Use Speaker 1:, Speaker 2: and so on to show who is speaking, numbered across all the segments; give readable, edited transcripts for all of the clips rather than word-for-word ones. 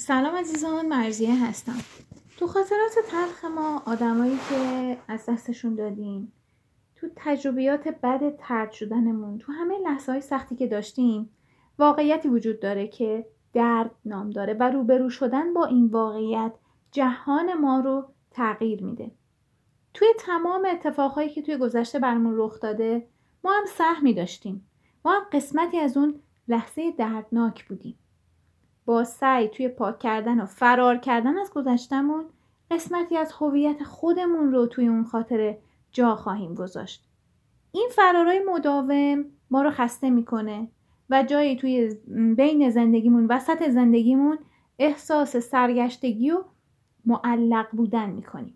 Speaker 1: سلام عزیزان، مرضیه هستم. تو خاطرات تلخ ما، آدمایی که از دستشون دادیم، تو تجربیات بد طرد شدنمون، تو همه لحظه‌های سختی که داشتیم، واقعیتی وجود داره که درد نام داره و روبرو شدن با این واقعیت جهان ما رو تغییر میده. توی تمام اتفاقهایی که توی گذشته برامون رخ داده، ما هم سهمی داشتیم. ما هم قسمتی از اون لحظه دردناک بودیم. با سعی توی پاک کردن و فرار کردن از گذشتمون قسمتی از هویت خودمون رو توی اون خاطره جا خواهیم گذاشت. این فرارای مداوم ما رو خسته میکنه و جایی توی بین زندگیمون، وسط زندگیمون احساس سرگشتگی و معلق بودن میکنیم.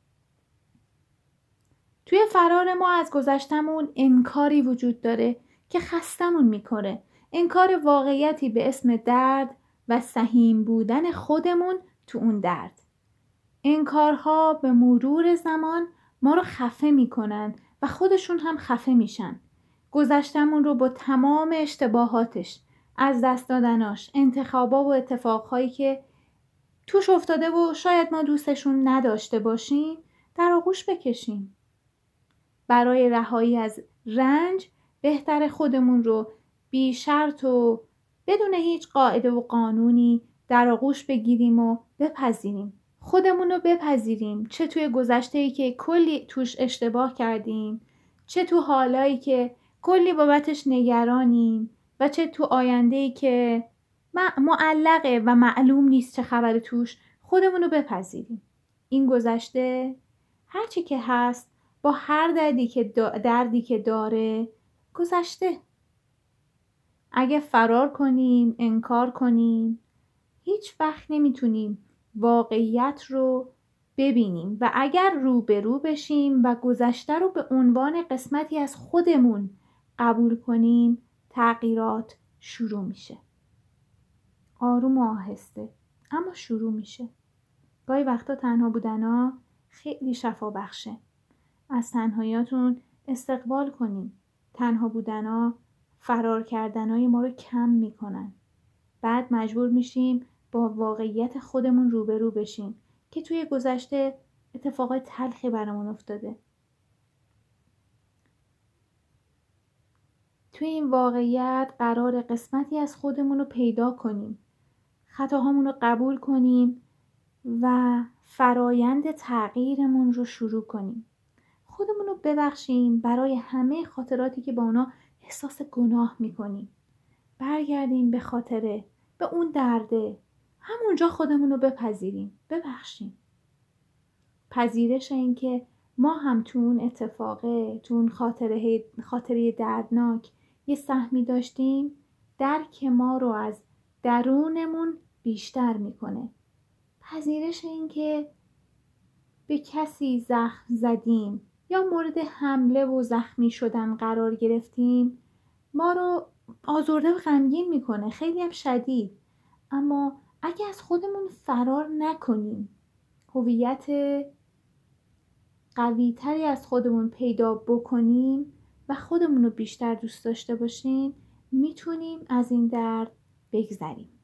Speaker 1: توی فرار ما از گذشتمون انکاری وجود داره که خستمون میکنه. انکار واقعیتی به اسم درد و سهیم بودن خودمون تو اون درد. انکارها به مرور زمان ما رو خفه میکنن و خودشون هم خفه میشن. گذشتمون رو با تمام اشتباهاتش، از دست دادناش، انتخابا و اتفاقهایی که توش افتاده و شاید ما دوستشون نداشته باشیم در آغوش بکشیم. برای رهایی از رنج بهتر خودمون رو بی شرط و بدون هیچ قاعده و قانونی در آغوش بگیریم و بپذیریم. خودمون رو بپذیریم، چه توی گذشته‌ای که کلی توش اشتباه کردیم، چه تو حالایی که کلی بابتش نگرانیم و چه تو آینده‌ای که معلقه و معلوم نیست چه خبر توش. خودمون رو بپذیریم. این گذشته هرچی که هست، با هر دردی که داره گذشته. اگه فرار کنیم، انکار کنیم، هیچ وقت نمیتونیم واقعیت رو ببینیم و اگر روبرو بشیم و گذشته رو به عنوان قسمتی از خودمون قبول کنیم، تغییرات شروع میشه. آروم و آهسته، اما شروع میشه. گاهی وقتا تنها بودنا خیلی شفا بخشه. از تنهاییاتون استقبال کنیم. تنها بودنا فرار کردنای ما رو کم میکنن. بعد مجبور میشیم با واقعیت خودمون روبرو بشیم که توی گذشته اتفاقات تلخی برامون افتاده. توی این واقعیت قرار قسمتی از خودمون رو پیدا کنیم. خطاهامون رو قبول کنیم و فرایند تغییرمون رو شروع کنیم. خودمون رو ببخشیم برای همه خاطراتی که با اونا احساس گناه میکنیم. برگردیم به خاطره، به اون درده. همونجا خودمون رو بپذیریم، ببخشیم. پذیرش این که ما هم تو اون اتفاقه، تو اون خاطره دردناک یه سهمی داشتیم، درک ما رو از درونمون بیشتر میکنه. پذیرش این که به کسی زخم زدیم یا مورد حمله و زخمی شدن قرار گرفتیم، ما رو آزرده و غمگین میکنه، خیلی هم شدید. اما اگه از خودمون فرار نکنیم، هویت قوی تری از خودمون پیدا بکنیم و خودمون رو بیشتر دوست داشته باشیم، میتونیم از این درد بگذریم.